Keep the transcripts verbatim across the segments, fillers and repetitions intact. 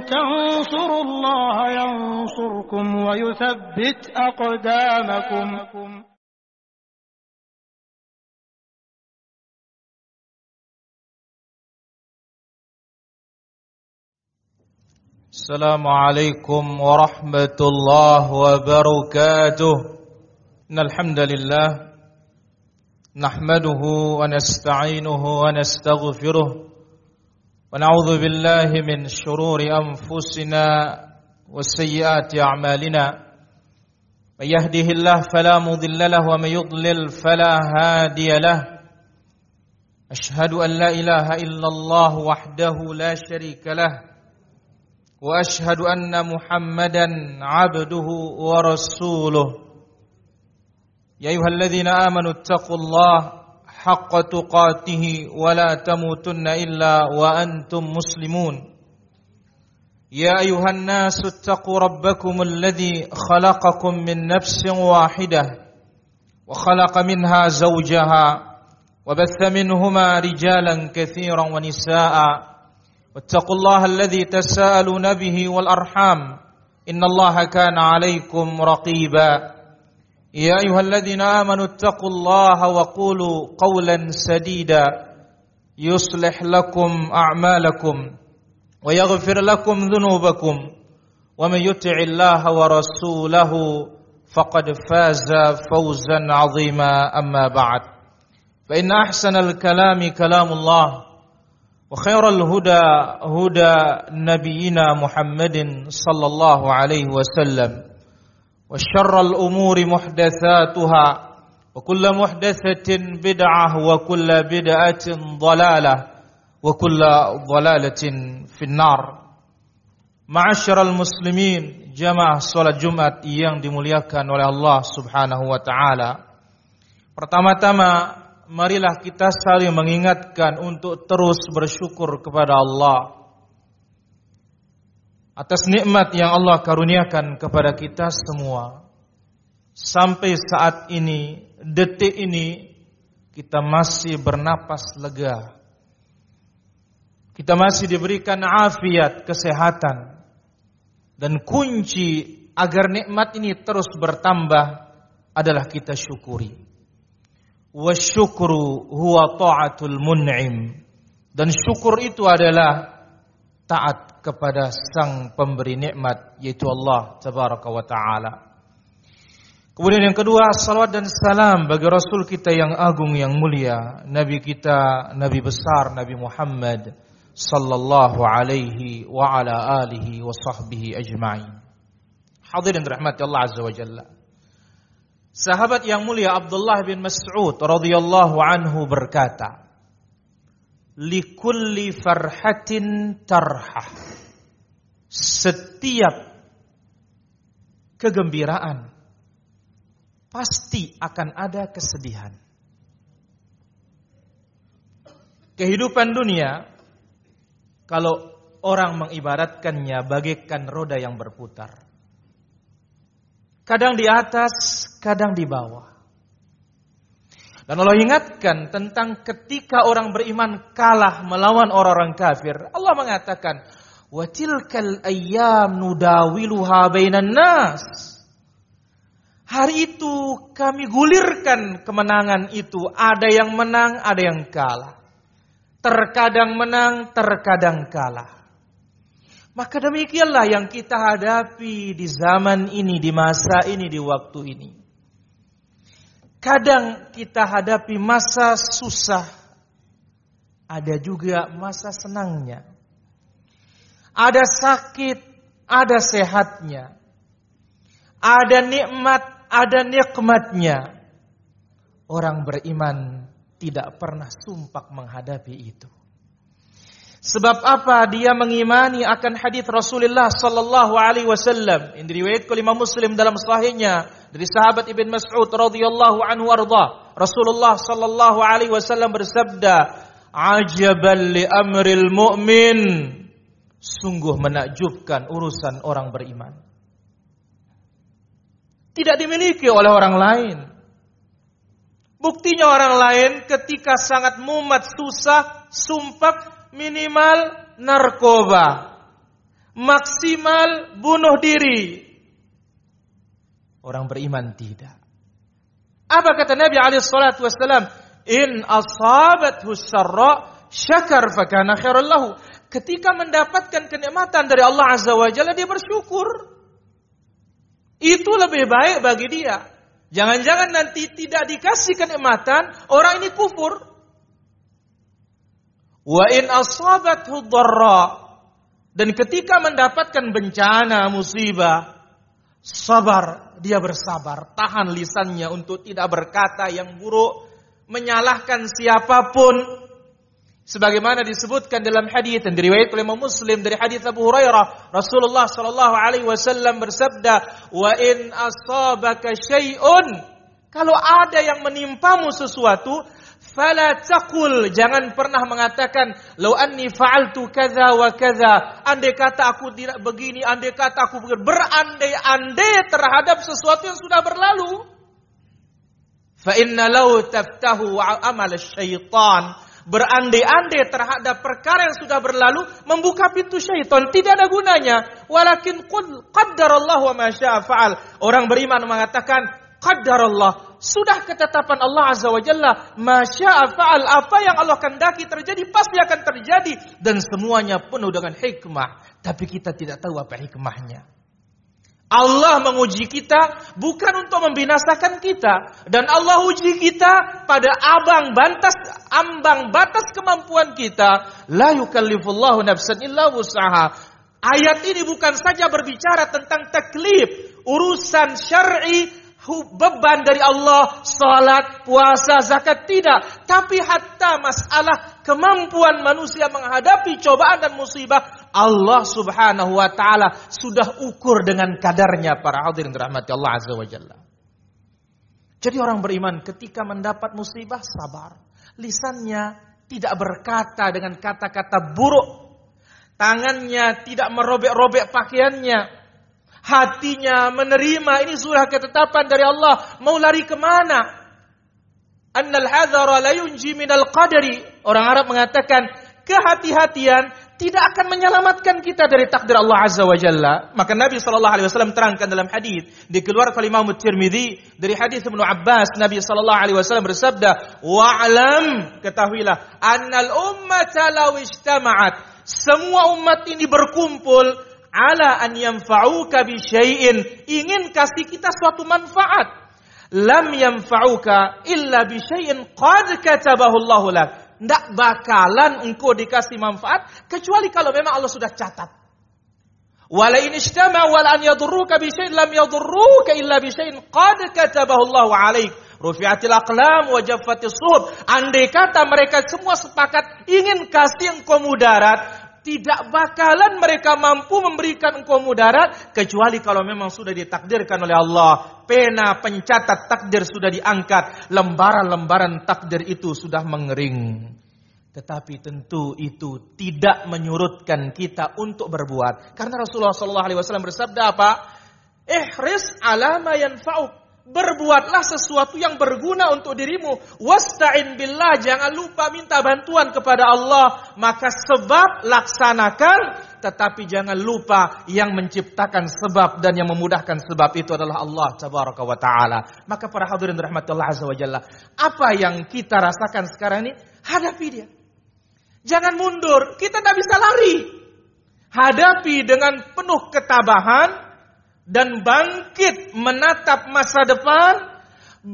تنصروا الله ينصركم ويثبت أقدامكم. Assalamualaikum warahmatullahi wabarakatuh. Innal hamdalillah nahmaduhu wa nasta'inuhu wa nastaghfiruh wa na'udzu billahi min shururi anfusina wa sayyiati a'malina. May yahdihillahu fala mudilla lahu wa may yudlil fala hadiya lahu. Ashhadu an la ilaha illallah wahdahu la syarika lahu wa ashhadu anna Muhammadan abduhu wa rasuluh. Ya ayyuhalladzina amanu taqullaha haqqa tuqatih wa la tamutunna illa wa antum muslimun. Ya ayyuhan nasu taqu rabbakumul ladzi khalaqakum min nafsin wahidah wa khalaqa minha zawjaha wa batha minhuma rijalan katsiran wa nisaa'a. واتقوا الله الذي تساءلون به والأرحام إن الله كان عليكم رقيبا يا أيها الذين آمنوا اتقوا الله وقولوا قولا سديدا يصلح لكم أعمالكم ويغفر لكم ذنوبكم ومن يطع الله ورسوله فقد فاز فوزا عظيما أما بعد فإن أحسن الكلام كلام الله وخير الهدى هدى نبينا محمد صلى الله عليه وسلم وشر الأمور محدثاتها وكل محدثة بدعة وكل بدعة ضلالة وكل ضلالة في النار. Ma'asyiral muslimin, jamaah salat Jumat yang dimuliakan oleh Allah Subhanahu wa taala. Pertama-tama marilah kita saling mengingatkan untuk terus bersyukur kepada Allah atas nikmat yang Allah karuniakan kepada kita semua. Sampai saat ini, detik ini, kita masih bernapas lega. Kita masih diberikan afiat, kesehatan. Dan kunci agar nikmat ini terus bertambah adalah kita syukuri. Wasyukru huwa ta'atul mun'im. Dan syukur itu adalah taat kepada sang pemberi nikmat, yaitu Allah tabaraka wa ta'ala. Kemudian yang kedua, salawat dan salam bagi Rasul kita yang agung yang mulia, Nabi kita, Nabi besar Nabi Muhammad sallallahu alaihi wa ala alihi wa sahbihi ajma'in. Hadirin rahmati Allah azza wa jalla. Sahabat yang mulia Abdullah bin Mas'ud radhiyallahu anhu berkata, "Likulli farhatin tarhah." Setiap kegembiraan pasti akan ada kesedihan. Kehidupan dunia, kalau orang mengibaratkannya bagaikan roda yang berputar. Kadang di atas, kadang di bawah. Dan Allah ingatkan tentang ketika orang beriman kalah melawan orang-orang kafir. Allah mengatakan, "Wa tilkal ayyam nudawiluha bainan nas." Hari itu kami gulirkan kemenangan itu. Ada yang menang, ada yang kalah. Terkadang menang, terkadang kalah. Maka demikianlah yang kita hadapi di zaman ini, di masa ini, di waktu ini. Kadang kita hadapi masa susah, ada juga masa senangnya. Ada sakit, ada sehatnya. Ada nikmat, ada nikmatnya. Orang beriman tidak pernah sumpah menghadapi itu. Sebab apa? Dia mengimani akan hadis Rasulullah sallallahu alaihi wasallam yang diriwayatkan oleh Imam Muslim dalam sahihnya dari sahabat Ibn Mas'ud radhiyallahu anhu arda. Rasulullah sallallahu alaihi wasallam bersabda, "Ajaban li amril mu'min." Sungguh menakjubkan urusan orang beriman. Tidak dimiliki oleh orang lain. Buktinya orang lain ketika sangat mumet, susah, sumpah, minimal narkoba, maksimal bunuh diri. Orang beriman tidak. Apa kata Nabi alaihi salatu wasallam? In asabathu syarra syakar fakana khairan lahu. Ketika mendapatkan kenikmatan dari Allah Azza wa Jalla, dia bersyukur. Itu lebih baik bagi dia. Jangan-jangan nanti tidak dikasih kenikmatan, orang ini kufur. Wa in asabathu dharra. Dan ketika mendapatkan bencana, musibah, sabar, dia bersabar, tahan lisannya untuk tidak berkata yang buruk, menyalahkan siapapun. Sebagaimana disebutkan dalam hadis yang diriwayatkan oleh Imam Muslim dari hadis Abu Hurairah, Rasulullah sallallahu alaihi wasallam bersabda, "Wa in asabaka syai'un," kalau ada yang menimpamu sesuatu, fala taqul, jangan pernah mengatakan, "Lau anni fa'altu kadza wa kadza," andai kata aku tidak begini, andai kata aku begini, berandai-andai terhadap sesuatu yang sudah berlalu. Fa inna law taftahu amal syaitan, berandai-andai terhadap perkara yang sudah berlalu membuka pintu syaitan, tidak ada gunanya. Walakin qul qaddarallahu wa ma syaa fa'al. Orang beriman mengatakan qaddarallah, sudah ketetapan Allah Azza wa Jalla, ma syaa fa'al, apa yang Allah kehendaki terjadi pasti akan terjadi, dan semuanya penuh dengan hikmah. Tapi kita tidak tahu apa hikmahnya. Allah menguji kita bukan untuk membinasakan kita, dan Allah uji kita pada abang batas ambang batas kemampuan kita. La yukallifullahu nafsan illa wus'aha. Ayat ini bukan saja berbicara tentang taklif, urusan syar'i, beban dari Allah, salat, puasa, zakat, tidak, tapi hatta masalah kemampuan manusia menghadapi cobaan dan musibah, Allah Subhanahu wa taala sudah ukur dengan kadarnya, para hadirin dirahmati Allah Azza wa Jalla. Jadi orang beriman ketika mendapat musibah sabar, lisannya tidak berkata dengan kata-kata buruk, tangannya tidak merobek-robek pakaiannya, hatinya menerima ini sudah ketetapan dari Allah. Mau lari kemana? Annal hadhara la yunji minal qadari. Orang Arab mengatakan kehati-hatian tidak akan menyelamatkan kita dari takdir Allah Azza wa Jalla. Maka Nabi sallallahu alaihi wasallam terangkan dalam hadis dikeluarkan oleh Imam Tirmidzi dari hadis Ibnu Abbas, Nabi sallallahu alaihi wasallam bersabda, "Wa'lam," ketahuilah, "annal ummata law ijtama'at," semua umat ini berkumpul, ala an yanfa'uka bi syai'in, ingin kasih kita suatu manfaat, lam yanfa'uka illa bi syai'in qad katabahu Allahu lak. Tidak bakalan engkau dikasih manfaat kecuali kalau memang Allah sudah catat. Wala in ijtama wala an yadurruka bi syai'in lam yadurruka illa bi syai'in qad katabahu Allahu 'alaik. Rufi'atil aqlam wa jaffatis suhuf. Andai kata mereka semua sepakat ingin kasih engkau mudarat, tidak bakalan mereka mampu memberikan engkau mudarat kecuali kalau memang sudah ditakdirkan oleh Allah. Pena pencatat takdir sudah diangkat, lembaran-lembaran takdir itu sudah mengering. Tetapi tentu itu tidak menyurutkan kita untuk berbuat. Karena Rasulullah shallallahu alaihi wasallam bersabda apa? Ihris ala ma yanfa'uk. Berbuatlah sesuatu yang berguna untuk dirimu. Wasta'in billah, jangan lupa minta bantuan kepada Allah. Maka sebab laksanakan, tetapi jangan lupa yang menciptakan sebab dan yang memudahkan sebab itu adalah Allah tabaraka wa ta'ala. Maka para hadirin rahmatullah azza wa jalla, apa yang kita rasakan sekarang ini, hadapi dia. Jangan mundur, kita tidak bisa lari. Hadapi dengan penuh ketabahan dan bangkit menatap masa depan,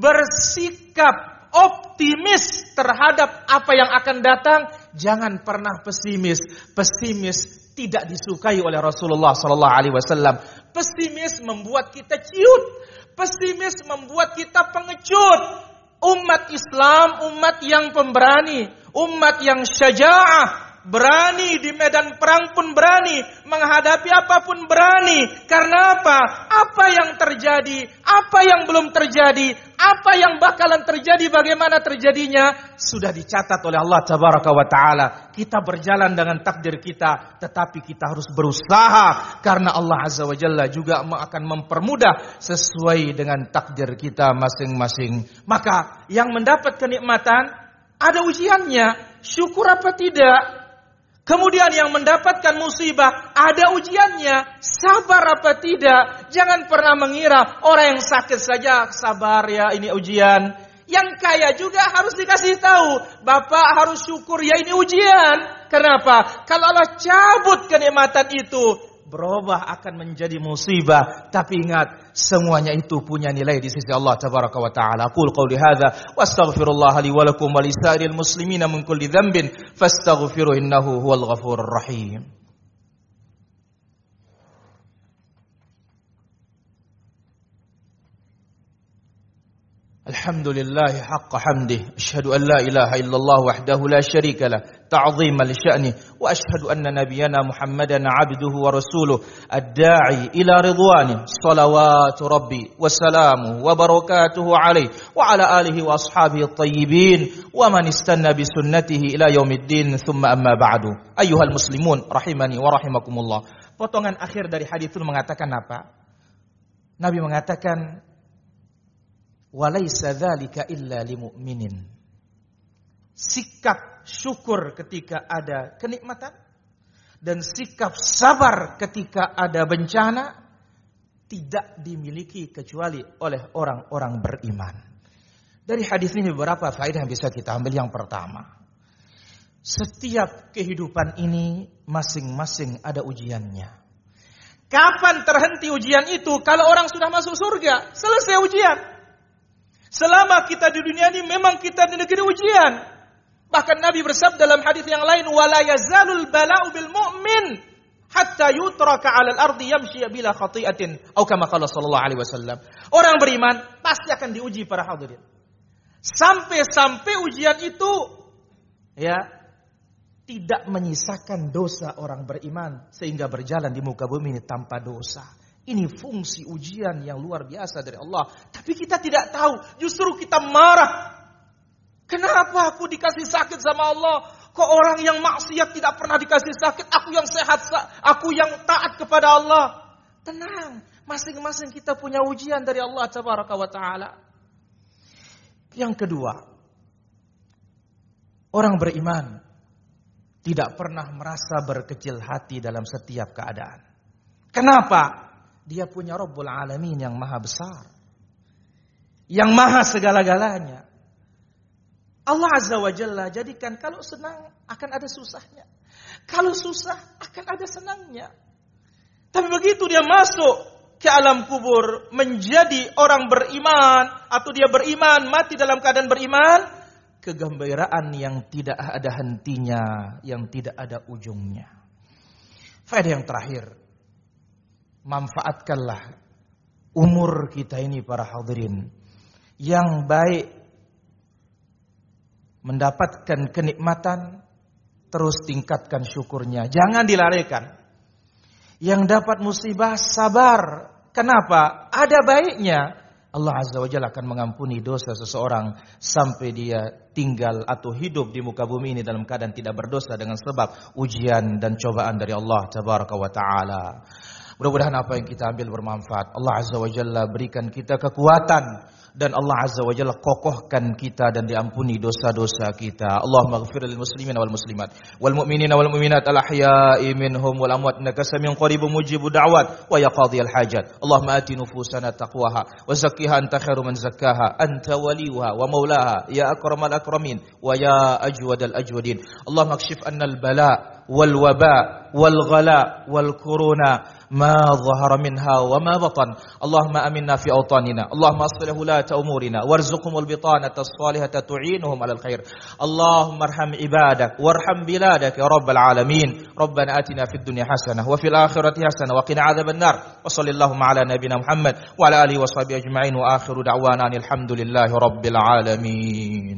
bersikap optimis terhadap apa yang akan datang. Jangan pernah pesimis. Pesimis tidak disukai oleh Rasulullah sallallahu alaihi wasallam. Pesimis membuat kita ciut. Pesimis membuat kita pengecut. Umat Islam, umat yang pemberani, umat yang syaja'ah, berani di medan perang pun berani, menghadapi apapun berani. Karena apa? Apa yang terjadi, apa yang belum terjadi, apa yang bakalan terjadi, bagaimana terjadinya, sudah dicatat oleh Allah tabaraka wa ta'ala. Kita berjalan dengan takdir kita, tetapi kita harus berusaha, karena Allah azza wa jalla juga akan mempermudah sesuai dengan takdir kita masing-masing. Maka yang mendapat kenikmatan ada ujiannya, syukur apa tidak? Kemudian yang mendapatkan musibah, ada ujiannya. Sabar apa tidak? Jangan pernah mengira orang yang sakit saja sabar ya, ini ujian. Yang kaya juga harus dikasih tahu. Bapak harus syukur ya, ini ujian. Kenapa? Kalau Allah cabut kenikmatan itu, berubah akan menjadi musibah. Tapi ingat, semuanya itu punya nilai di sisi Allah tabaraka wa ta'ala. Qul qawli hadza wastaghfirullah li wa lakum wa lisairil muslimina min kulli dhanbin fastaghfiruhu innahu huwal ghafurur rahim. Alhamdulillah haqqa hamdih, asyhadu an la ilaha illallah wahdahu la syarika lah, ta'ziman li sya'nih, wa asyhadu anna nabiyyana Muhammadan 'abduhu wa rasuluh, ad-da'i ila ridwanih, salawatu rabbi wa salamuhu wa barakatuhu alaihi wa ala alihi wa ashabihi at-tayyibin wa man istanna bi sunnatihi ila yaumiddin, thumma amma ba'du. Ayyuhal muslimun rahimani wa rahimakumullah. Potongan akhir dari hadis itu mengatakan apa? Nabi mengatakan, walaysa dzalika illa limu'minin. Sikap syukur ketika ada kenikmatan dan sikap sabar ketika ada bencana tidak dimiliki kecuali oleh orang-orang beriman. Dari hadis ini beberapa faedah yang bisa kita ambil. Yang pertama, setiap kehidupan ini masing-masing ada ujiannya. Kapan terhenti ujian itu? Kalau orang sudah masuk surga, selesai ujian. Selama kita di dunia ini memang kita di negeri ujian. Bahkan Nabi bersabda dalam hadis yang lain, wala yazalul bala'u bil mu'min hatta yutraka 'alal ardi yamshi bila khati'atin, atau kama qala sallallahu alaihi wasallam. Orang beriman pasti akan diuji para hadirin. Sampai-sampai ujian itu ya tidak menyisakan dosa orang beriman sehingga berjalan di muka bumi ini tanpa dosa. Ini fungsi ujian yang luar biasa dari Allah. Tapi kita tidak tahu. Justru kita marah. Kenapa aku dikasih sakit sama Allah? Kok orang yang maksiat tidak pernah dikasih sakit? Aku yang sehat, aku yang taat kepada Allah. Tenang. Masing-masing kita punya ujian dari Allah tabaraka wa ta'ala. Yang kedua, orang beriman tidak pernah merasa berkecil hati dalam setiap keadaan. Kenapa? Dia punya Rabbul Alamin yang maha besar, yang maha segala-galanya. Allah Azza wa Jalla jadikan kalau senang akan ada susahnya, kalau susah akan ada senangnya. Tapi begitu dia masuk ke alam kubur menjadi orang beriman, atau dia beriman mati dalam keadaan beriman, kegembiraan yang tidak ada hentinya, yang tidak ada ujungnya. Faedah yang terakhir, manfaatkanlah umur kita ini para hadirin. Yang baik mendapatkan kenikmatan, terus tingkatkan syukurnya, jangan dilarikan. Yang dapat musibah, sabar. Kenapa? Ada baiknya. Allah Azza wa Jalla akan mengampuni dosa seseorang sampai dia tinggal atau hidup di muka bumi ini dalam keadaan tidak berdosa dengan sebab ujian dan cobaan dari Allah tabaraka wa ta'ala. Mudah-mudahan apa yang kita ambil bermanfaat. Allah Azza wa Jalla berikan kita kekuatan, dan Allah Azza wa Jalla kokohkan kita dan diampuni dosa-dosa kita. Allahumma ighfir lil muslimin wal muslimat wal mu'minina wal mu'minat al ahya'i minhum wal amwat innaka samiun qaribun mujibud da'wat wa ya qadhiyal hajat. Allahumma ati nufusana taqwaha wa zakkiha anta khairu man zakkaha anta waliyuha wa maulaha ya akramal akramin wa ya ajwadal ajwadin. Allahumma akshif anna al bala wal waba wal ghala wal kuruna ما ظهر منها وما بطن. اللهم آمنا في أوطاننا. اللهم أصلح ولاة أمورنا وارزقهم البطانة الصالحة تعينهم على الخير. اللهم ارحم عبادك وارحم بلادك يا رب العالمين. ربنا آتنا في الدنيا حسنة وفي الآخرة حسنة وقنا عذاب النار. وصل اللهم على نبينا محمد وعلى آله وصحبه أجمعين. وآخر دعوانا الحمد لله رب العالمين.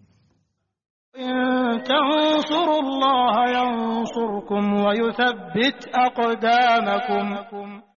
إن تنصروا الله ينصركم ويثبت أقدامكم.